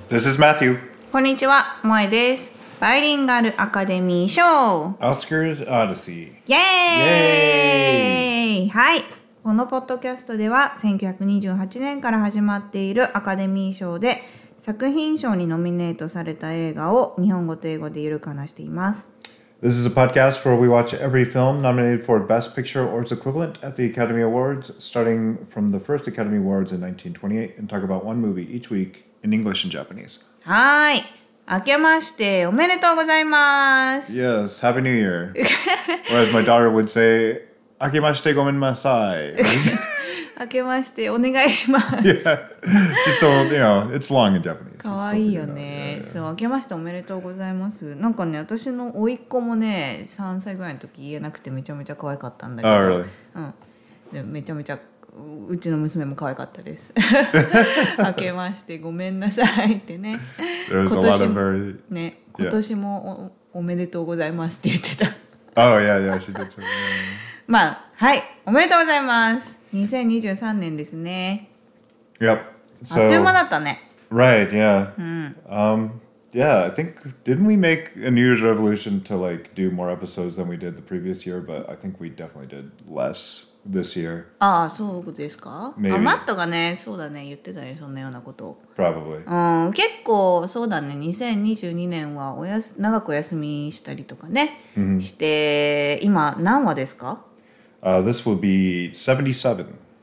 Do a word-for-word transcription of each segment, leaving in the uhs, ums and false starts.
This is Matthew. こんにちは、萌えです。バイリンガルアカデミー賞 Oscars Odyssey. イエーイはい。このポッドキャストではせんきゅうひゃくにじゅうはちねんから始まっているアカデミー賞で作品賞にノミネートされた映画を日本語と英語でゆるく話しています。 This is a podcast where we watch every film nominated for Best Picture or its equivalent at the Academy Awards, starting from the first Academy Awards in nineteen twenty-eight, and talk about one movie each week in English and Japanese. はい。明けましておめでとうございます。 Yes, Happy New Year. Or as my daughter would say, 明けましてごめんなさい. 明けましてお願いします。 Yeah, just don't, you know, it's long in Japanese. かわいいよね。そう、明けましておめでとうございます。なんかね、私の甥っ子もね、さんさいぐらいの時言えなくてめちゃめちゃ可愛かったんだけど。 Oh, really? うん。でめちゃめちゃうちの娘も可愛かったです。明けましてごめんなさいってね。 There's a lot of very... ね、今年も お, おめでとうございますって言ってた。 Oh, yeah, yeah, she did say that. まあ、はい、おめでとうございます。にせんにじゅうさんねんですね。 Yep. あっという間だったね。 Right, yeah. Um, yeah, I think, didn't we make a New Year's resolution to like do more episodes than we did the previous year? But I think we definitely did less this year. ああ、そうですか？ Maybe. あ、マットがね、そうだね、言ってたね、そんなようなことを。 Probably. うん、結構そうだね、にせんにじゅうにねんはおやす長くお休みしたりとかね、mm-hmm. して、今何話ですか？ Uh, this will be seventy-seven.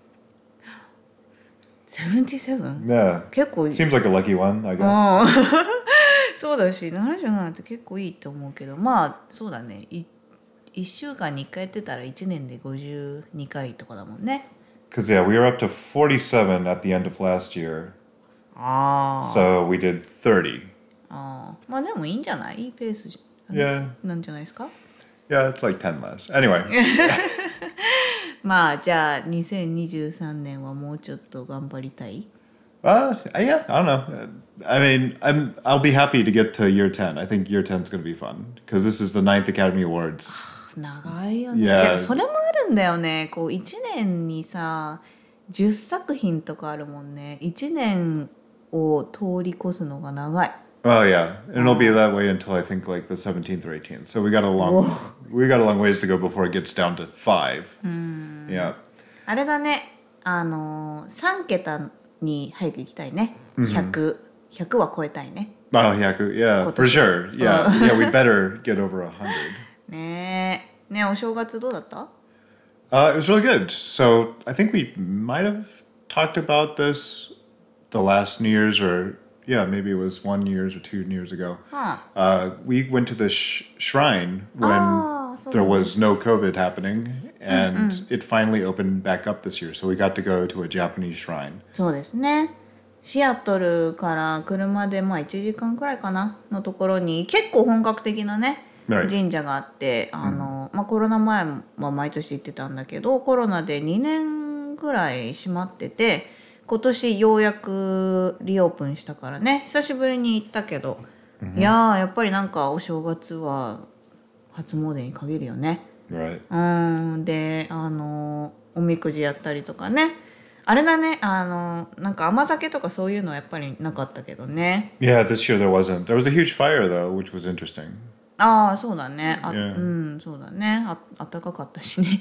seventy-seven? Yeah. 結構 Seems like a lucky one, I guess. そうだし、ななじゅうななって結構いいと思うけど、まあそうだね、いいっしゅうかんにいっかいやってたらいちねんでごじゅうにかいとかだもんね。 Because yeah, we were up to forty-seven at the end of last year. ああ。 So we did thirty. ああ。まあでもいいんじゃない？いいペースじゃ、 yeah. なんじゃないですか？ Yeah, it's like ten less. Anyway. まあじゃあにせんにじゅうさんねんはもうちょっと頑張りたい？ Uh, yeah, I don't know. I mean, I'm, I'll be happy to get to year ten. I think year ten is going to be fun. Because this is the ninth Academy Awards. 長いよね。 Yeah. いや、それもあるんだよね。こういちねんにさ、じゅっさく品とかあるもんね。いちねんを通り越すのが長い。 Oh yeah, and it'll be that way until I think like the seventeenth or eighteenth. So we got a long, we got a long ways to go before it gets down to five. Yeah. あれだね。あのさん桁に早く行きたいね。ひゃく、ひゃくは超えたいね。 Oh yeah, yeah, for sure. Yeah, yeah, we better get over a hundred. ねえ、ねえ、お正月どうだった？ Uh, it was really good. So I think we might have talked about this the last New Year's or yeah, maybe it was one years or two years ago. Huh. Uh, we went to the sh- shrine when oh, there was no COVID happening, and mm-hmm. it finally opened back up this year. So we got to go to a Japanese shrine. そうですね。シアトルから車でまあいちじかんくらいかなのところに結構本格的なね、right. 神社があって、あの、mm-hmm. まあコロナ前は毎年行ってたんだけど、コロナでにねんくらい閉まってて。今年ようやくリオープンしたからね、久しぶりに行ったけど、mm-hmm. いやーやっぱりなんかお正月は初詣に限るよね。 Right. うんであのおみくじやったりとかね、あれだね、あのなんか甘酒とかそういうのはやっぱりなかったけどね。 Yeah, this year there wasn't. There was a huge fire though, which was interesting. ああそうだね。あ、 yeah. うんそうだね。あ暖かかったしね。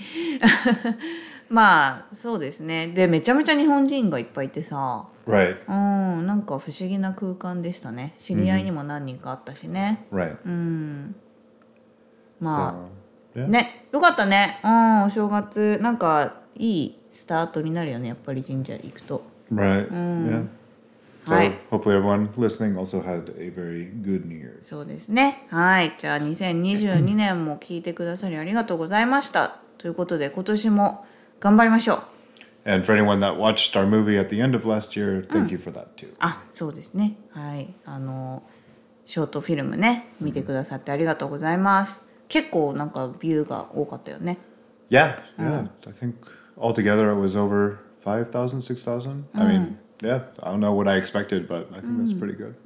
まあそうですね。でめちゃめちゃ日本人がいっぱいいてさ、 right. うんなんか不思議な空間でしたね。知り合いにも何人かあったしね。 Right. うんまあ、 so, yeah. ねよかったね。うんお正月なんかいいスタートになるよね。やっぱり神社行くと。 Right. うん、yeah. So はい。 hopefully everyone listening also had a very good New Year. そうですね。はい。じゃあにせんにじゅうにねんも聞いてくださりありがとうございました。ということで今年も頑張りましょう。 And for anyone that watched our movie at the end of last year, thank you for that too. あ、そうですね。はい。あのショートフィルムね見てくださってありがとうございます。結構なんかビューが多かったよね。 Yeah, yeah. I think altogether it was over five thousand, six thousand. I mean, yeah. I don't know what I expected, but I think that's pretty good. うん。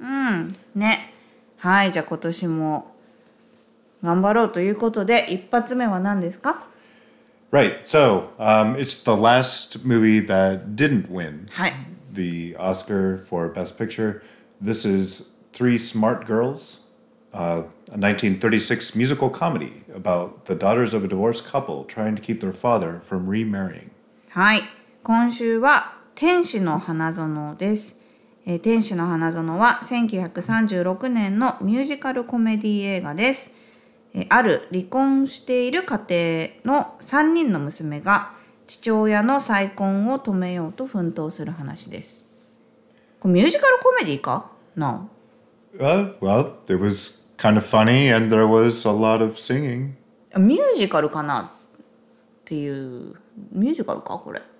ね。はい。じゃあ今年も頑張ろうということで一発目は何ですか ？Right. So um, it's the last movie that didn't win はい。 the Oscar for Best Picture. This is Three Smart Girls, uh, a nineteen thirty-six musical comedy about the daughters of a divorced couple trying to keep their father from remarrying. はい、今週は天使の花園です。えー、天使の花園はせんきゅうひゃくさんじゅうろくねんのミュージカルコメディ映画です。えー、ある離婚している家庭のさんにんの娘が父親の再婚を止めようと奮闘する話です。これミュージカルコメディかな？ Uh, well, it was kind of funny and there was a lot of singing. ミュージカルかなっていうミュージカルかこれ。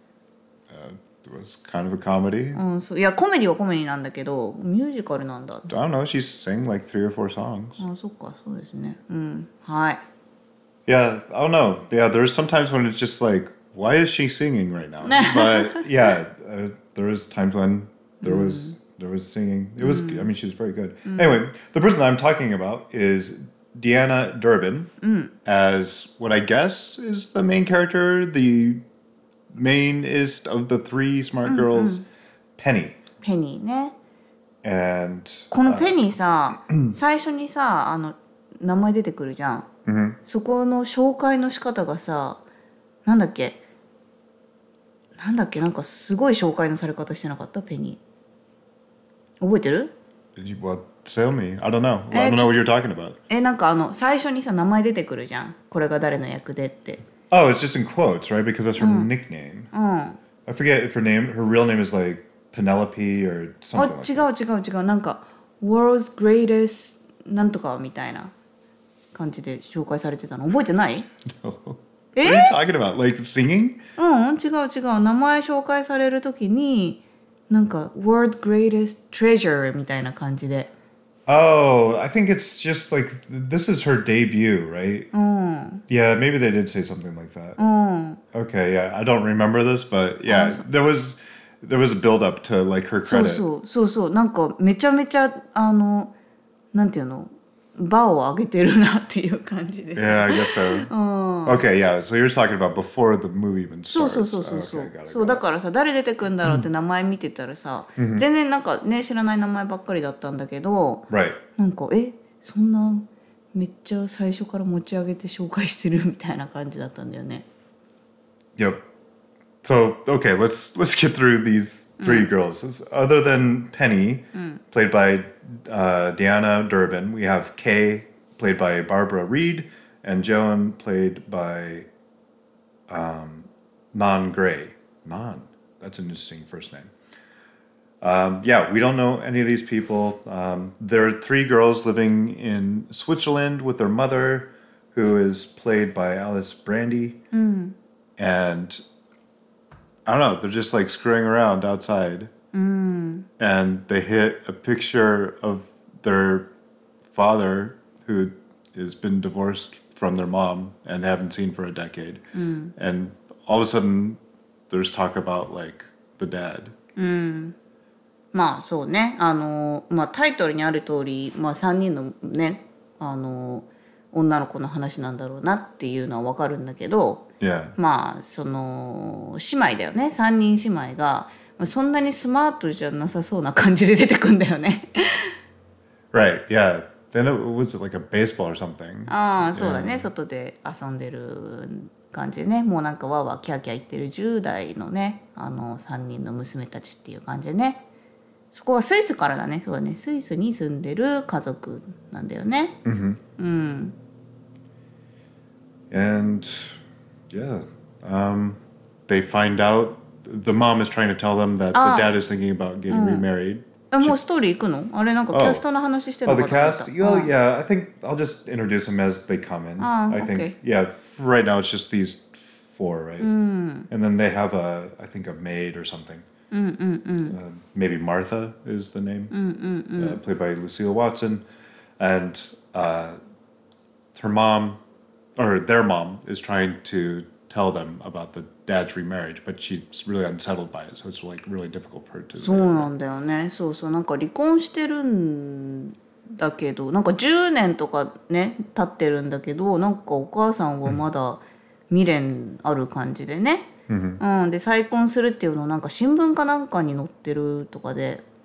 Uh, it was kind of a comedy. うん、そういやコメディはコメディなんだけどミュージカルなんだ。 I don't know. She sang like three or four songs. あ、そっかそうですね。うん、はい。 Yeah, I don't know. Yeah, there's sometimes when it's just like, why is she singing right now? But yeah, uh, there was times when there was there was singing. It was. I mean, she was very good. Anyway, the person I'm talking about is Deanna Durbin as what I guess is the main character, the mainest of the three smart girls, Penny. ペニーね。 And このペニーさ、最初にさあの名前出てくるじゃん。 mm-hmm. そこの紹介の仕方がさ、なんだっけなんだっけなんかすごい紹介のされ方してなかったペニー。覚えてる？ Did you, what, tell me. I don't know. I don't know what you're talking about. え、なんかあの最初にさ名前出てくるじゃん。これが誰の役でって。 Oh, it's just in quotes, right? Because that's her nickname. うん。 I forget if her name, her real name is like Penelope or あ、 something 違 like う違う違うなんか World's Greatest なんとかみたいな感じで紹介されてたの覚えてない？ that. No. え What are you talking about? Like singing? うん違う違う名前紹介されるときになんか World Greatest Treasure みたいな感じで。 Oh, I think it's just like this is her debut, right? うん。 Yeah, maybe they did say something like that. うん。 Okay, yeah, I don't remember this, but yeah, Oh, so- there was there was a build up to like her そう credit. そうそうそうなんかめちゃめちゃあのなんていうのバーを上げてるなっていう感じです。 Yeah, I guess so. Okay, yeah. So you're talking about before the movie even そう starts. そうそうそうそう、 Okay, got it, そう got だ it. からさ誰出てくんだろうって名前見てたらさ、全然なんかね知らない名前ばっかりだったんだけど、 Right. なんかえそんなめっちゃ最初から持ち上げて紹介してるみたいな感じだったんだよね。 Yep. So okay, let's let's get through these three girls. Other than Penny, played by uh, Deanna Durbin, we have Kay, played by Barbara Reed, and Joan, played by um, Non Gray. Non. That's an interesting first name. Um, yeah, we don't know any of these people. Um, there are three girls living in Switzerland with their mother, who is played by Alice Brandy. And I don't know, they're just like screwing around outside. And they hit a picture of their father who has been divorced from their mom and they haven't seen for a decade. And all of a sudden, there's talk about like the dad. まあそうねあの、まあ、タイトルにある通り、まあ、さんにんのねあの女の子の話なんだろうなっていうのは分かるんだけど、 Yeah. まあその姉妹だよねさんにん姉妹がそんなにスマートじゃなさそうな感じで出てくんだよね。 Right, yeah. Then it was like a baseball or something. ああそうだね、外で遊んでる感じでねもうなんかわーわーキャーキャー言ってるじゅう代のねあのさんにんの娘たちっていう感じでね。そこはスイスからだね。そうだね。スイスに住んでる家族なんだよね。 Mm-hmm. うん。 And yeah, um, they find out the mom is trying to tell them that Ah. the dad is thinking about getting remarried. あもうストーリー行くの？あれなんかキャストの話してる Oh, の the かと思った。 cast? Well, yeah, I think I'll just introduce them as they come in. Ah, I okay. think, yeah, f- right now it's just these four, right? And then they have a, I think, a maid or something. Uh, maybe Martha is the name, uh, played by Lucille Watson. And uh, her mom, or their mom, is trying to tell them about the dad's remarriage, but she's really unsettled by it, so it's like really difficult for her to. そうなんだよね。そうそうなんか離婚してるんだけどなんかじゅうねんとかね経ってるんだけどなんかお母さんはまだ未練ある感じでね。うん、で再婚するっていうのをなんか新聞かなんかに載ってるとかで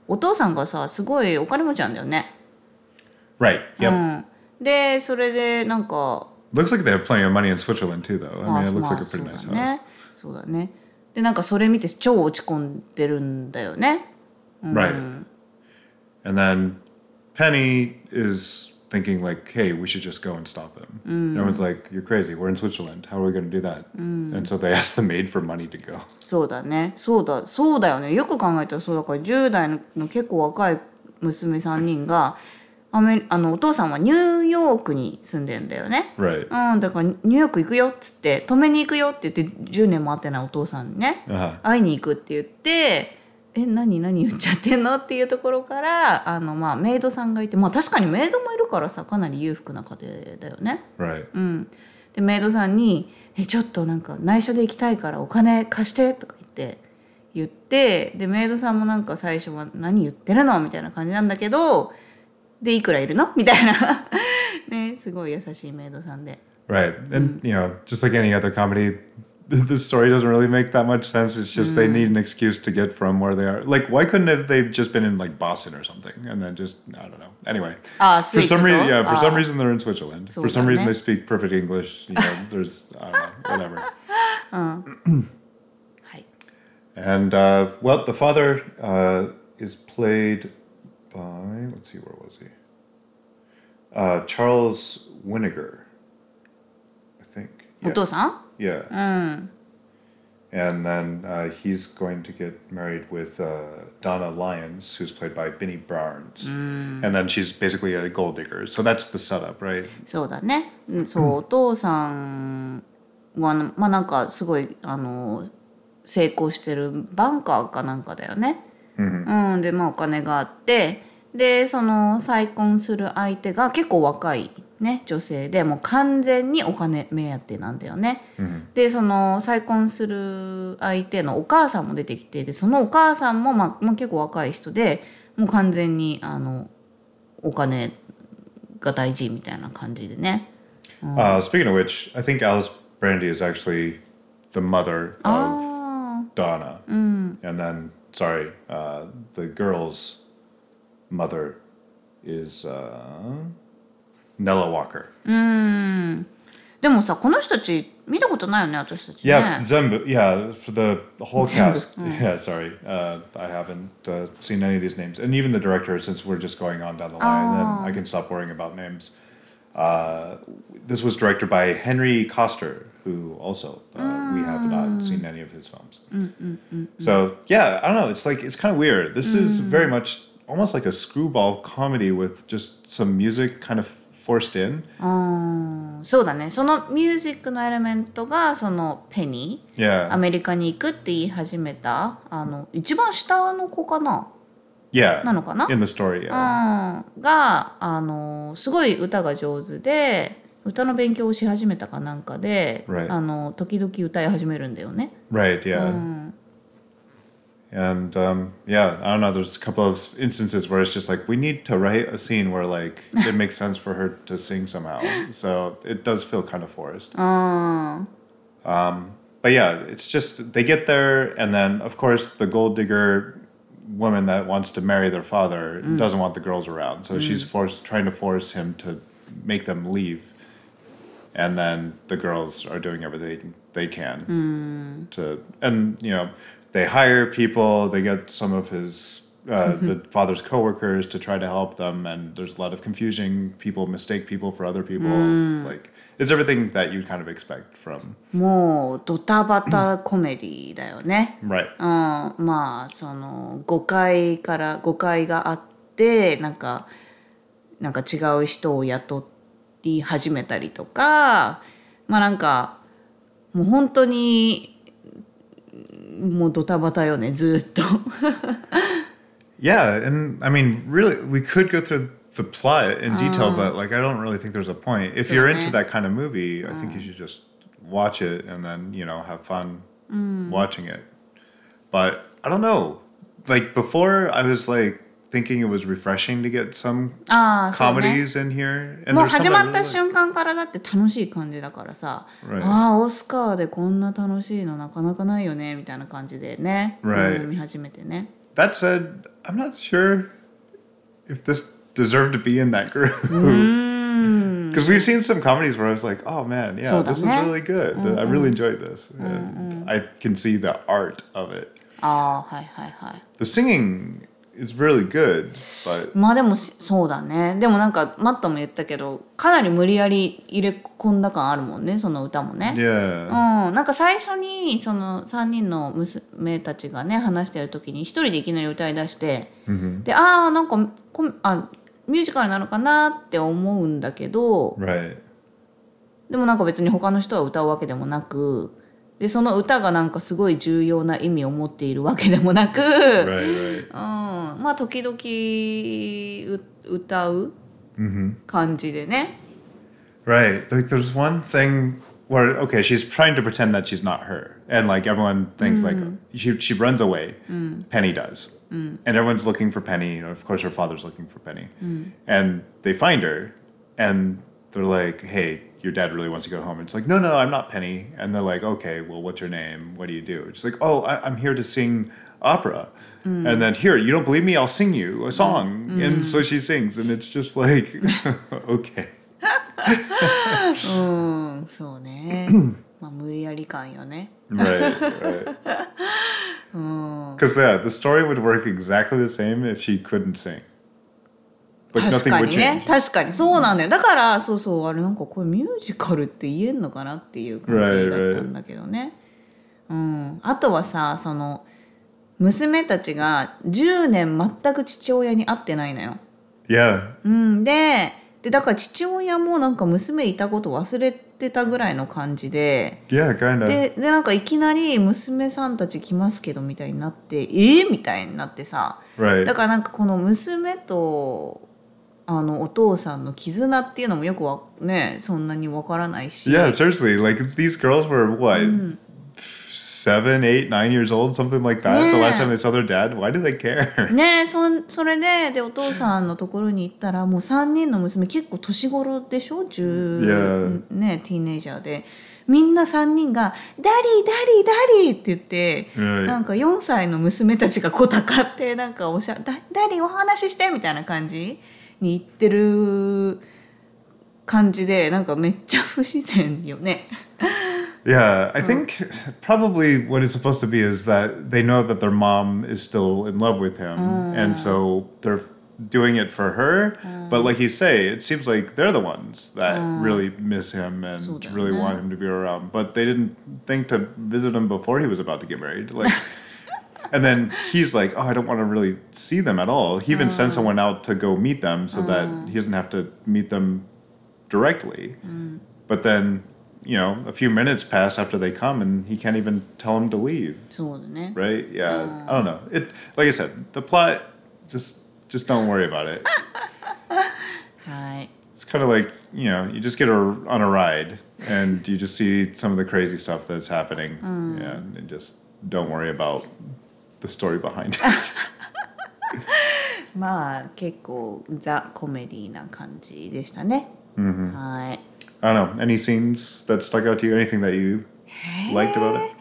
お父さんがさすごいお金持ちなんだよね。 Right. Yep.、 うん、でそれでなんか Looks like they have plenty of money in Switzerland too, though. I mean, it looks ま like あ a そ pretty うだ nice house. ねそうだね。でなんかそれ見て超落ち込んでるんだよね。 Right. And then Penny is thinking like, hey, we should just go and stop them. Everyone's like, you're crazy. We're in Switzerland. How are we going to do that? And so they ask the maid for money to go. そうだねそうだそうだよね。よく考えたらそうだからじゅう代の結構若い娘さんにんがアメあのお父さんはニューヨークに住んでんだよね。 Right. うん、だからニューヨーク行くよっつって止めに行くよって言ってじゅうねんも会ってないお父さんにね、 Uh-huh. 会いに行くって言ってえ何何言っちゃってんのっていうところからあの、まあ、メイドさんがいて、まあ、確かにメイドもいるからさかなり裕福な家庭だよね。 Right. うん、でメイドさんにえちょっとなんか内緒で行きたいからお金貸してとか言って言ってでメイドさんもなんか最初は何言ってるのみたいな感じなんだけどでいくらいるのみたいなねすごい優しいメイドさんで。 Right. And, you know, just like any other comedy, the, the story doesn't really make that much sense. It's just they need an excuse to get from where they are. Like, why couldn't have they just been in, like, Boston or something? And then just, I don't know. Anyway. Ah, for some sweet. reason, yeah, for Ah. some reason they're in Switzerland. So For some reason then- they speak perfect English. You know, there's, I don't know, whatever. はい。 And, uh, well, the father uh, is played by, let's see, where was he? Uh, Charles Winnegar, I think. お Yeah. 父さん Yeah. うん。 And then uh, he's going to get married with uh, Donna Lyons, who's played by Binny Barnes. And then she's basically a gold digger. So that's the setup, right? そうだね。うんそうお父さんはまあなんかすごいあの成功してるバンカーかなんかだよね。うん、でまあお金があってでその再婚する相手が結構若い、ね、女性でもう完全にお金目当てなんだよね。でその再婚する相手のお母さんも出てきてでそのお母さんも、まあまあ、結構若い人でもう完全にあのお金が大事みたいな感じでね。 Uh, speaking of which, I think Alice Brandy is actually the mother of あ Donna. And then, sorry, uh, the girl's mother is uh, Nella Walker. ーでもさこの人たち見たことないよね私たちね。 Yeah, Zembu. Yeah, for the whole Zembu, cast. Yeah, sorry, uh, I haven't uh, seen any of these names, and even the director. Since we're just going on down the line, then I can stop worrying about names. Uh, this was directed by Henry Koster, who also uh, we have not seen any of his films. So yeah, I don't know. It's like it's kind of weird. This is very much almost like a screwball comedy with just some music kind of forced in. そうだねそのミュージックのエレメントがそのペニー Yeah, アメリカに行くって言い始めたあの一番下の子かな yeah. なのかな In the story, う yeah. んがあのすごい歌が上手で歌の勉強をし始めたかなんかで、 Right. あの時々歌い始めるんだよね。 Right, yeah. And um, yeah, I don't know. There's a couple of instances where it's just like we need to write a scene where like it makes sense for her to sing somehow. So it does feel kind of forced. Um, but yeah, it's just they get there, and then of course the gold digger woman that wants to marry their father doesn't want the girls around, so she's forced trying to force him to make them leave. And then the girls are doing everything they can to, and you know. They hire people, they get some of his, uh, the father's coworkers to try to help them, and there's a lot of confusion. People mistake people for other people. Like, it's everything that you kind of expect from. もうドタバタコメディだよね。 Right. うん、まあその誤解から誤解があってなんかなんか違う人を雇い始めたりとかまあなんかもう本当にもうドタバタよねずっと。 Yeah, and I mean, really, we could go through the plot in detail, but like, I don't really think there's a point. If you're into that kind of movie, I think you should just watch it and then, you know, have fun watching it. But I don't know. Like, before, I was like thinking it was refreshing to get some ああそうね。 comedies in here. And もう there's some 始 that ま I った really like. 瞬間からだって楽しい感じだからさ、 Right. ああオスカーでこんな楽しいのなかなかないよねみたいな感じでね、 Right. うん見始めてね。 that said, I'm not sure if this deserved to be in that group. Because we've seen some comedies where I was like, oh man, yeah, this was really good. Mm-hmm. I really enjoyed this. Mm-hmm. I can see the art of it. Ah, hi, hi, hi. The singing is really good, but... まあでもそうだね。でもなんかマットも言ったけど、かなり無理やり入れ込んだ感あるもんね、その歌もね。 Yeah. うん、なんか最初にそのさんにんの娘たちがね話してる時に一人でいきなり歌い出して、mm-hmm. で、ああなんかあミュージカルなのかなって思うんだけど、 right. でもなんか別に他の人は歌うわけでもなく。でその歌がなんかすごい重要な意味を持っているわけでもなく、 right, right. うん、まあ時々歌う感じでね。 Right. Like there's one thing where okay, she's trying to pretend that she's not her, and like everyone thinks like she she runs away. Penny does, and everyone's looking for Penny. Of course, her father's looking for Penny, and they find her, and they're like, hey.Your dad really wants to go home. It's like, no, no, I'm not Penny. And they're like, okay, well, what's your name? What do you do? It's like, oh, I, I'm here to sing opera. Mm. And then here, you don't believe me? I'll sing you a song. Mm. And so she sings. And it's just like, okay. うん、そうね。まあ無理やり感よね。 Right, right. Because yeah, the story would work exactly the same if she couldn't sing. 確かにね、確かにそうなんだよ。だからそうそうあれなんかこれミュージカルって言えんのかなっていう感じだったんだけどね。right, right. うん。あとはさその娘たちがじゅうねん全く父親に会ってないのよ。 Yeah. うん、で, でだから父親もなんか娘いたこと忘れてたぐらいの感じで。 Yeah, kind of. で, でなんかいきなり娘さんたち来ますけどみたいになってえー、みたいになってさ。 Right. だからなんかこの娘とあのお父さんの絆っていうのもよくわねそんなにわからないし。 Yeah, seriously, like these girls were what, mm. seven, eight, nine years old, something like that. The last time they saw their dad, why did they care? ねえ、そそれででお父さんのところに行ったらもう三人の娘結構年頃でしょ、十、yeah. ねティーネイジャーで。みんなさんにんが「ダディダディダディ」って言って、right. なんかよんさいの娘たちがこうたかってなんかおしゃダダディお話ししてみたいな感じに言ってる感じでなんかめっちゃ不自然よね。 Yeah, I think probably what it's supposed to be is that they know that their mom is still in love with him, and so they're doing it for her. But like you say, it seems like they're the ones that really miss him and really want him to be around. But they didn't think to visit him before he was about to get married. Like, and then he's like, oh, I don't want to really see them at all. He even sent someone out to go meet them so that he doesn't have to meet them directly. But then, you know, a few minutes pass after they come and he can't even tell them to leave. Right? Yeah. I don't know. It, like I said, the plot, just just don't worry about it. It's kind of like, you know, you just get a, on a ride and you just see some of the crazy stuff that's happening. Yeah, and just don't worry about the story behind it. まあ結構ザ・コメディな感じでしたね。 Mm-hmm. はい。 I don't know. Any scenes that stuck out to you? Anything that you liked about it?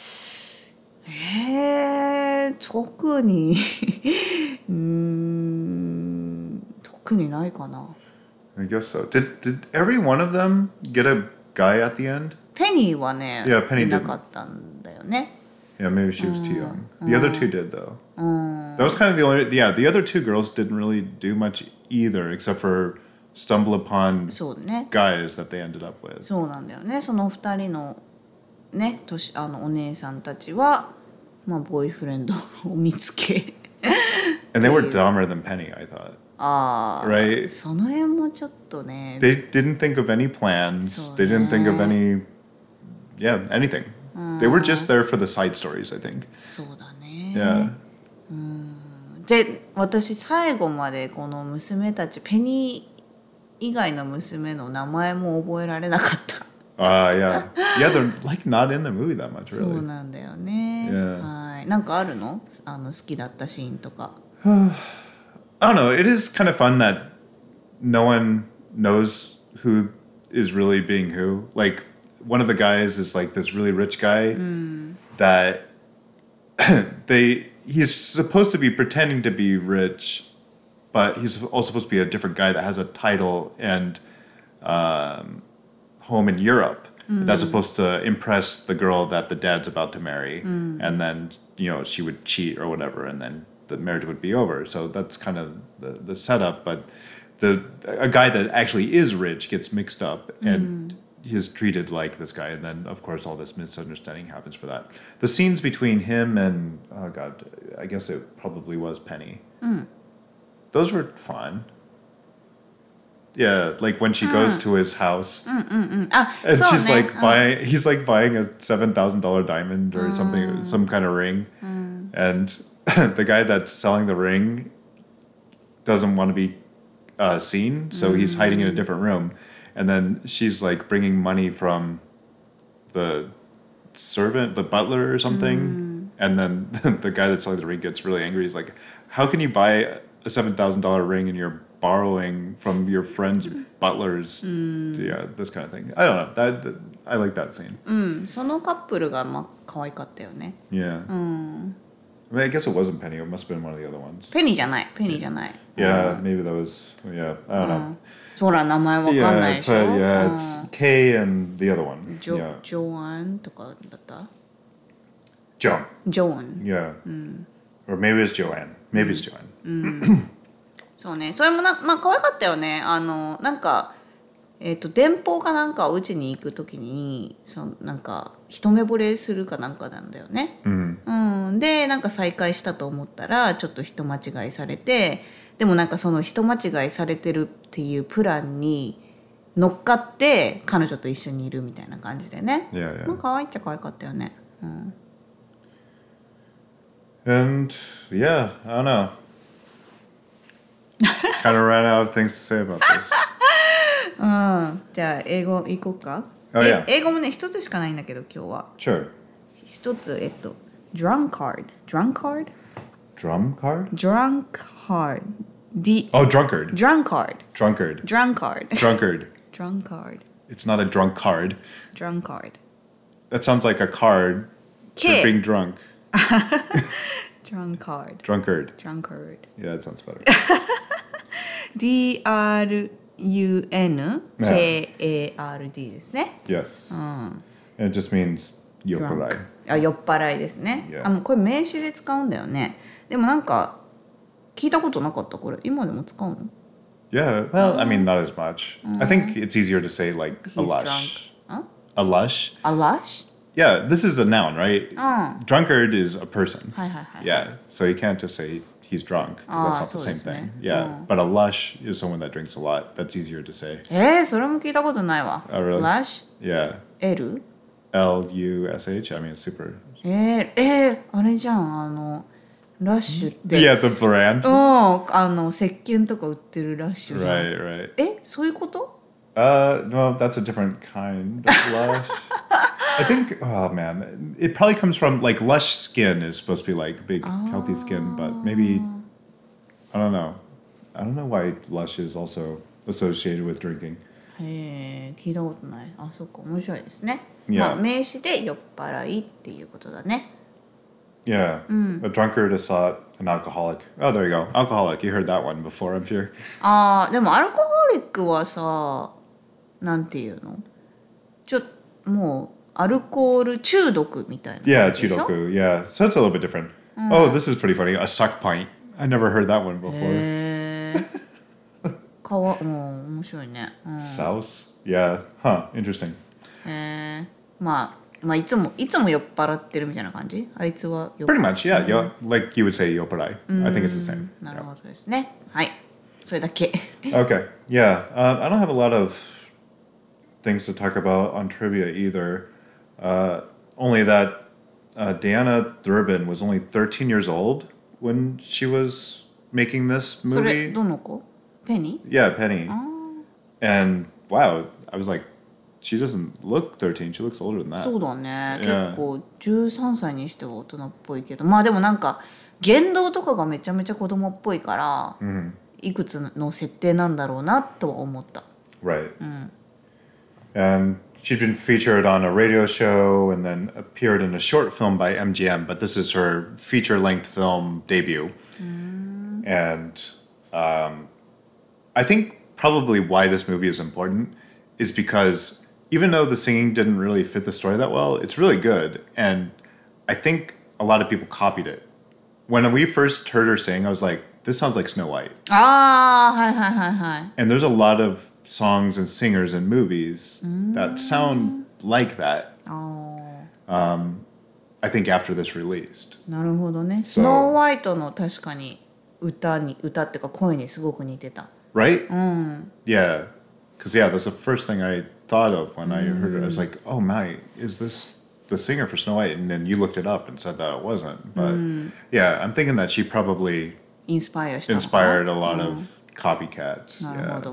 えー、特にうーん特にないかな。 I guess so. Did did every one of them get a guy at the end? ペニーはね、 yeah, Penny いなかったんだよね。 Yeah, maybe she was too young. The other two did though. That was kind of the only. Yeah, the other two girls didn't really do much either, except for stumble upon そうね。 guys that they ended up with. そうなんだよね。その二人のね、年あのお姉さんたちはまあボーイフレンドを見つけ。 And they were dumber than Penny, I thought. ああ、 right? その辺もちょっとね。 They didn't think of any plans. They didn't think of any, yeah, anything. They were just there for the side stories, I think. そうだね。 Yeah. うん。で、私最後までこの娘たちペニー以外の娘の名前も覚えられなかった。 ああ、uh, yeah. Yeah, they're like not in the movie that much, really. そうなんだよね。 Yeah. はい。なんかあるの？あの好きだったシーンとか。 I don't know. It is kind of fun that no one knows who is really being who. Like, one of the guys is like this really rich guy that they he's supposed to be pretending to be rich, but he's also supposed to be a different guy that has a title and um, home in Europe. Mm. That's supposed to impress the girl that the dad's about to marry, mm. and then you know she would cheat or whatever, and then the marriage would be over. So that's kind of the, the setup. But the a guy that actually is rich gets mixed up and. Mm. He's treated like this guy, and then of course all this misunderstanding happens for that. The scenes between him and oh god, I guess it probably was Penny. Mm. Those were fun. Yeah, like when she mm. goes to his house, mm, mm, mm. Ah, and she's like uh. buying. He's like buying a seven thousand dollar diamond or mm. something, some kind of ring, mm. and the guy that's selling the ring doesn't want to be uh, seen, so mm. he's hiding in a different room. And then she's like bringing money from the servant, the butler or something. Mm. And then the guy that's selling the ring gets really angry. He's like, how can you buy a seven thousand dollars ring and you're borrowing from your friend's butlers? Mm. Yeah, this kind of thing. I don't know. That, that, I like that scene. Mm. そのカップルがまあ可愛かったよね。 Yeah. Mm. I mean, I guess it wasn't Penny. It must have been one of the other ones. Penny じゃない。Penny じゃない。 Yeah, maybe that was, yeah, I don't know. そら名前わかんないでしょ Yeah, it's Kay and the other one. ジョ、ジョアンとかだった Joan. Joan. Yeah. Or maybe it's Joanne. Maybe it's Joanne. そうね。それもな、まあ可愛かったよね。あの、なんか、えっと、電報かなんかお家に行くときに、そのなんか、一目惚れするかなんかなんだよね。うん。で、なんか再会したと思ったら、ちょっと人間違いされて、でもなんかその人間違いされてるっていうプランに乗っかって彼女と一緒にいるみたいな感じでね。 Yeah, yeah. まあ可愛いっちゃ可愛かったよね。うん。 And yeah, I don't know. Kind of ran out of things to say about this. うん。じゃあ英語行こうか。 Oh, yeah. 英語もね一つしかないんだけど今日は。 Sure. 一つえっと drunkard drunkard drum card drunkard D oh drunkard drunkard drunkard drunkard drunkard drunkard It's not a drunk card. Drunkard. That sounds like a card for being drunk. Drunkard. Drunkard. Drunkard. Yeah, that sounds better. D R U N K A R D ですね。 Yes. And it just means 酔っ払い。 あ、酔っ払いですね。 Yeah. あ、もうこれ名詞で使うんだよね。でもなんか聞いたことなかったこれ。今でも使うの ？Yeah, well, I mean, not as much. I think it's easier to say like a lush. Huh? A lush. A lush? Yeah, this is a noun, right? Uh. Drunkard is a person. Hi, hi, hi. Yeah, so you can't just say he's drunk. Ah, that's not the same thing. Ne. Yeah, uh. but a lush is someone that drinks a lot. That's easier to say. えー、それも聞いたことないわ。 Oh, really? Lush? Yeah. L? L U S H? I mean, it's super. えー、えー、あれじゃん、あの。ラッシュって。 Yeah, the brand. うん、あの石鹸とか売ってるラッシュじゃん。 Right, right. え、そういうこと Uh, no, that's a different kind of lush. I think, oh man, it probably comes from like lush skin is supposed to be like big, healthy skin, but maybe, I don't know. I don't know why lush is also associated with drinking. へえ、聞いたことない。あ、そっか、面白いですね。 Yeah. まあ、名詞で酔っ払いっていうことだね。 Yeah, mm. A drunkard, a sot, an alcoholic. Oh, there you go. Alcoholic. You heard that one before, I'm sure. ああ、でもアルコホリックはさ、なんていうのちょっともうアルコール中毒みたいな。 Yeah, 中毒. Yeah, so it's a little bit different. Mm. Oh, this is pretty funny. A suck pint. I never heard that one before. へえ。かわ、もう面白いね。うん、 Souse? Yeah. Huh. Interesting. へえ。まあ。まあいつもいつも酔っ払ってるみたいな感じ？あいつは酔っ Pretty much, yeah. Yo, like you would say 酔っ払い。I think it's the same. なるほどですね。はい。それだけ。 Okay. Yeah. Uh, I don't have a lot of things to talk about on trivia either. Uh, only that uh, Diana Durbin was only thirteen years old when she was making this movie. それどの子？ペニー？ Yeah, Penny. And wow, I was like,She doesn't look thirteen. She looks older than that. そうだね。結構じゅうさんさいにしては大人っぽいけど、まあでもなんか言動とかがめちゃめちゃ子供っぽいから、mm-hmm. いくつの設定なんだろうなとは思った。 Right. Mm. And she'd been featured on a radio show and then appeared in a short film by M G M, but this is her feature-length film debut. Mm. And um, I think probably why this movie is important is because even though the singing didn't really fit the story that well, it's really good. And I think a lot of people copied it. When we first heard her sing, I was like, this sounds like Snow White. Ah, hi, hi, hi, hi. And there's a lot of songs and singers in movies mm. that sound like that. Oh. Um, I think after this released. なるほどね。スノーホワイトの確かに歌に歌ってか声にすごく似てた。 Right? Mm. Yeah. Because yeah, that's the first thing I thought of when I heard it. I was like, oh my, is this the singer for Snow White? And then you looked it up and said that it wasn't. But mm. yeah, I'm thinking that she probably inspired, inspired a lot mm. of copycats. Yeah.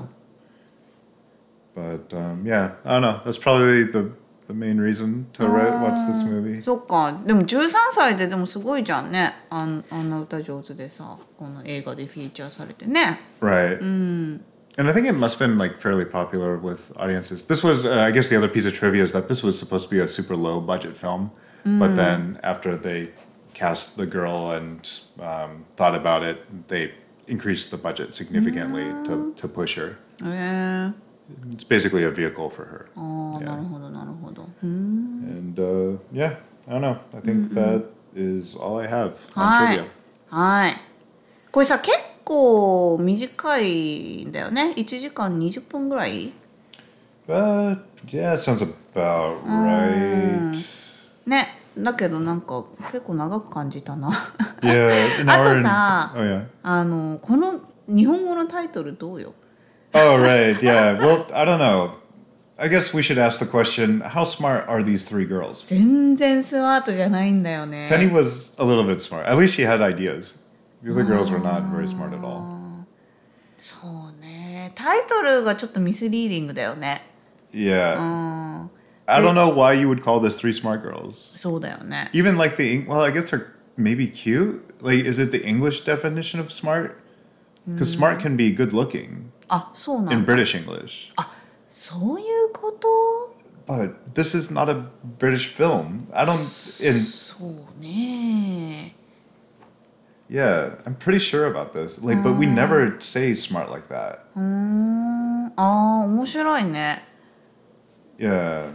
But um, yeah, I don't know. That's probably the the main reason to watch this movie. そっか。でもじゅうさんさいででもすごいじゃんね。あん、あんな歌上手でさ、この映画でフィーチャーされてね。 Right. Mm. And I think it must have been like fairly popular with audiences. This was, uh, I guess, the other piece of trivia is that this was supposed to be a super low budget film, mm. but then after they cast the girl and um, thought about it, they increased the budget significantly mm. to to push her. Yeah. It's basically a vehicle for her. Oh, yeah. なるほど、なるほど。 And uh, yeah, I don't know. I think that is all I have on はい trivia. はい。これさ、結構短いんだよね。いちじかんにじゅっぷんぐらい But yeah, it sounds about right. ね。だけどなんか結構長く感じたな。 Yeah, あとさ、 oh, yeah. あのこの日本語のタイトルどうよ Oh, right. Yeah. Well, I don't know. I guess we should ask the question, how smart are these three girls? 全然スマートじゃないんだよね。 Penny was a little bit smart. At least she had ideas. The other girls were not very smart at all. そうね。タイトルがちょっとミスリーディングだよね。 Yeah. I don't know why you would call this three smart girls. そうだよね。 Even like the, well, I guess they're maybe cute. Like, is it the English definition of smart? Because smart can be good looking. あ、そうなんだ。 In British English. あ、そういうこと But this is not a British film. I don't... In, そうね。 Yeah, I'm pretty sure about this. Like, but we never say smart like that. うーん。あー、面白いね。 Yeah.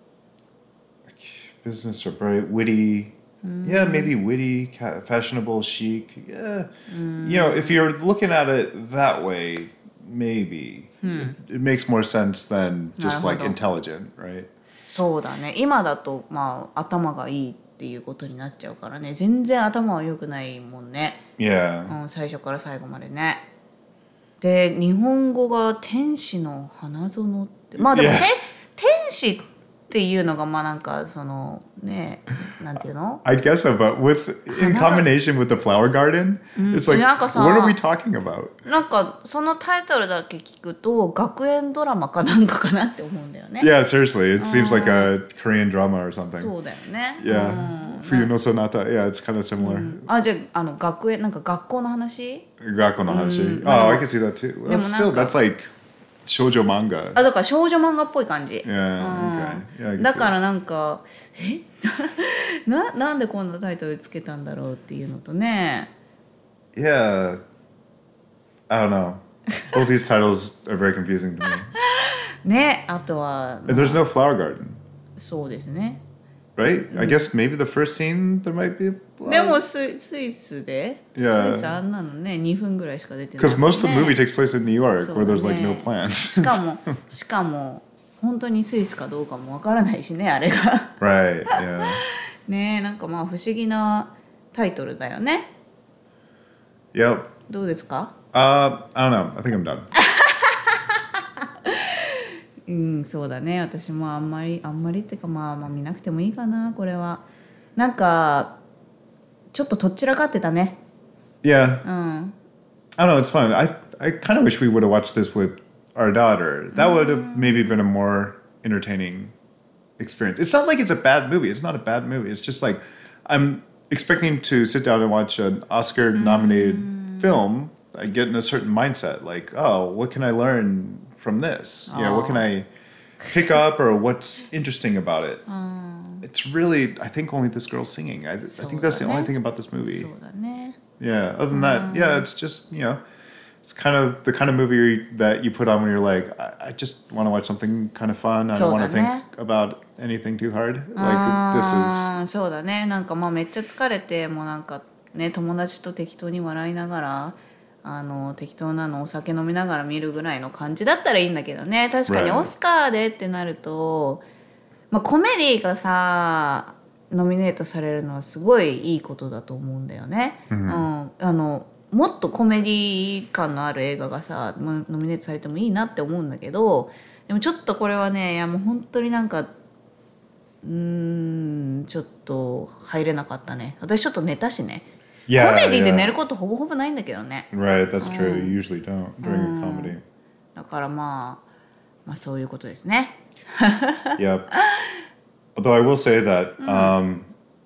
Business or bright, witty. Yeah, maybe witty, fashionable, chic. Yeah. You know, if you're looking at it that way, maybe. It, it makes more sense than just like intelligent, right? そうだね。今だと、まあ、頭がいいっていうことになっちゃうからね。全然頭は良くないもんね。 Yeah. うん、最初から最後までね。で、日本語が天使の花園って。まあでも、 Yes. 天使っていうのが、まあなんか、その、ね、なんていうの I guess so, but with, in combination with the flower garden, it's like, なんかさ、 what are we talking about? なんか、そのタイトルだけ聞くと、学園ドラマかなんかかなって思うんだよね。 Yeah, seriously. It seems like a Korean drama or something. そうだよね。 Yeah. Fuyu no Sonata. Yeah, it's kind of similar. あ、じゃあ、あの、学園、なんか学校の話 Gakko no Hanashi. Oh, I can see that too. Well, still, that's like shoujo manga. あ、だから少女漫画っぽい感じ。 Yeah, okay. Yeah, I can だ see から that. なんか、えな、なんでこんなタイトルつけたんだろうっていうのとね。 Yeah. I don't know. Both these titles are very confusing to me. ね、あとは、ま And あ there's no flower garden, そうですね。 right? I guess maybe the first scene there might be a で flower. もス、スイスで、 Yeah. スイスあんなのね、にふんぐらいしか出てない Because most of the ね movie takes place in New York, そう where だ there's like ね no plants. しかも、しかも、本当にスイスかどうかもわからないしね、あれが。 Right, yeah. ね、なんかまあ不思議なタイトルだよね。 Yep. どうですか Uh, I don't know. I think I'm done. うん、そうだね。私もあんまりあんまりってかまあまあ見なくてもいいかなこれは。なんかちょっととっちらかってたね。 Yeah. うん。 I don't know. It's fun. I I kind of wish we would have watched this with our daughter. That would have maybe been a more entertaining experience. It's not like it's a bad movie. It's not a bad movie. It's just like I'm expecting to sit down and watch an Oscar-nominated film. I get in a certain mindset, like, oh, what can I learn from this? You know, what can I pick up or what's interesting about it. It's really, I think only this girl singing. I, I think that's the only thing about this movie. そうだね。 Yeah, other than that, yeah, it's just, you know, it's kind of the kind of movie that you put on when you're like, I, I just want to watch something kind of fun. I don't want to think about anything too hard. Like, this is... そうだね。なんかまあめっちゃ疲れて、もうなんかね、友達と適当に笑いながら、あの適当なのお酒飲みながら見るぐらいの感じだったらいいんだけどね。確かにオスカーでってなると、まあコメディがさ、ノミネートされるのはすごいいいことだと思うんだよね。うん、あのもっとコメディ感のある映画がさノミネートされてもいいなって思うんだけど、でもちょっとこれはね、いやもう本当になんかうーんちょっと入れなかったね。私ちょっと寝たしね。Yeah, コメディで寝ることほぼほぼないんだけどね。 Right, that's true. You usually don't during a comedy. だからまあまあそういうことですね。 Yep. Although I will say that um,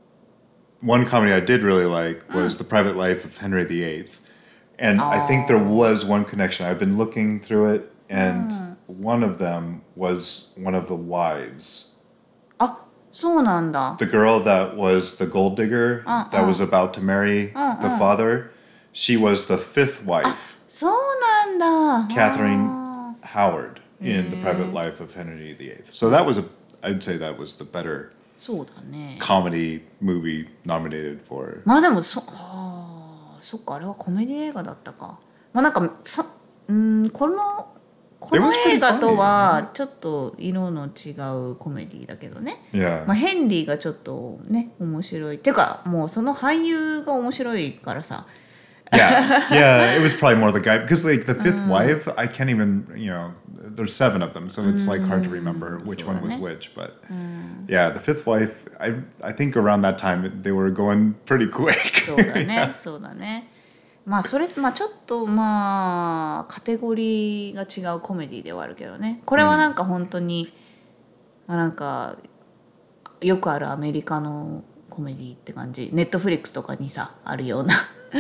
one comedy I did really like was The Private Life of Henry the Eighth. And oh. I think there was one connection. I've been looking through it, and mm. one of them was one of the wives. Ah, そうなんだ. The girl that was the gold digger uh, that uh. was about to marry uh, the uh. father, she was the fifth wife. あ、そうなんだ. Catherine Howard in The Private Life of Henry the Eighth. So that was a I'd say that was the better そうだね comedy movie nominated for. まあでもそあそっかあれはコメディ映画だったか。まあなんかそうんこのこの映画とはちょっと色の違うコメディだけどね。 Yeah. まあヘンリーがちょっとね面白い。っていうかもうその俳優が面白いからさ。 Yeah, yeah, it was probably more the guy because like the fifth wife, I can't even, you know, there's seven of them, so it's like hard to remember which one was which. But yeah, the fifth wife, I I think around that time they were going pretty quick. そうだね、そうだね。まあそれまあちょっとまあカテゴリーが違うコメディではあるけどね。これはなんか本当に、まあなんかよくあるアメリカのコメディって感じ。ネットフリックスとかにさあるような。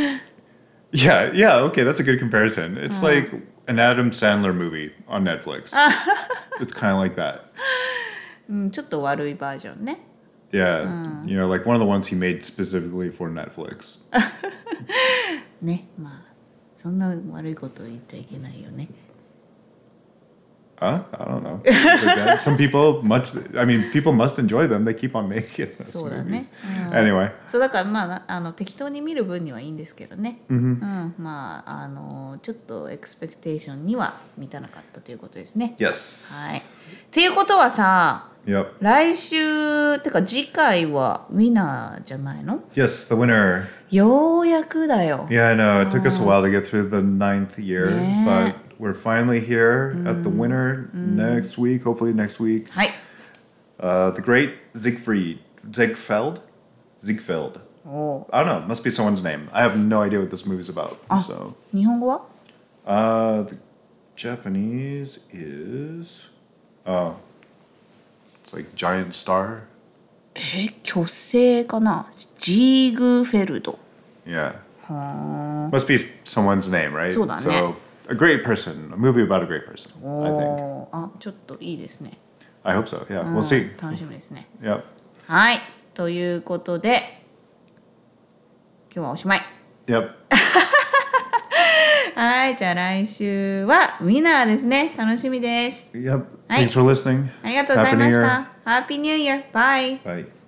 Yeah, yeah, okay, that's a good comparison. It's uh. like an Adam Sandler movie on Netflix. It's kind of like that. うん、ちょっと悪いバージョンね。 Yeah, you know, like one of the ones he made specifically for Netflix. ね、まあそんな悪いこと言っちゃいけないよね。 Huh? I don't know. Like Some people much. I mean, people must enjoy them. They keep on making those そうだね。 movies. Anyway. そうだからまああの適当に見る分にはいいんですけどね。 Mm-hmm. うん、まああのちょっとエクスペクテーションには満たなかったということですね。 Yes. はい。っていうことはさ、 Yep. 来週てか次回はウィナーじゃないの？ Yes, the winner. ようやくだよ。 Yeah, I know. It took us a while to get through the ninth year, ね。 but we're finally here at the winner next week, hopefully next week. はい。 Uh, the great Siegfried, Ziegfeld, Ziegfeld. Oh. I don't know. Must be someone's name. I have no idea what this movie's about. あ、 So. 日本語は？ Uh, the Japanese is. Oh. It's like giant star. え、巨星かな？ジーグフェルド。 Yeah. は Must be someone's name, right? そうだね。 So a great person, a movie about a great person. I think. あ、ちょっといいですね。 I hope so. Yeah, we'll see. 楽しみですね。 Yep. はい、ということで今日はおしまい。 Yep. はい、じゃあ来週はウィナーですね。楽しみです。 Yep. はい。 Thanks for listening. ありがとうございました。Happy New Year. Bye. Bye.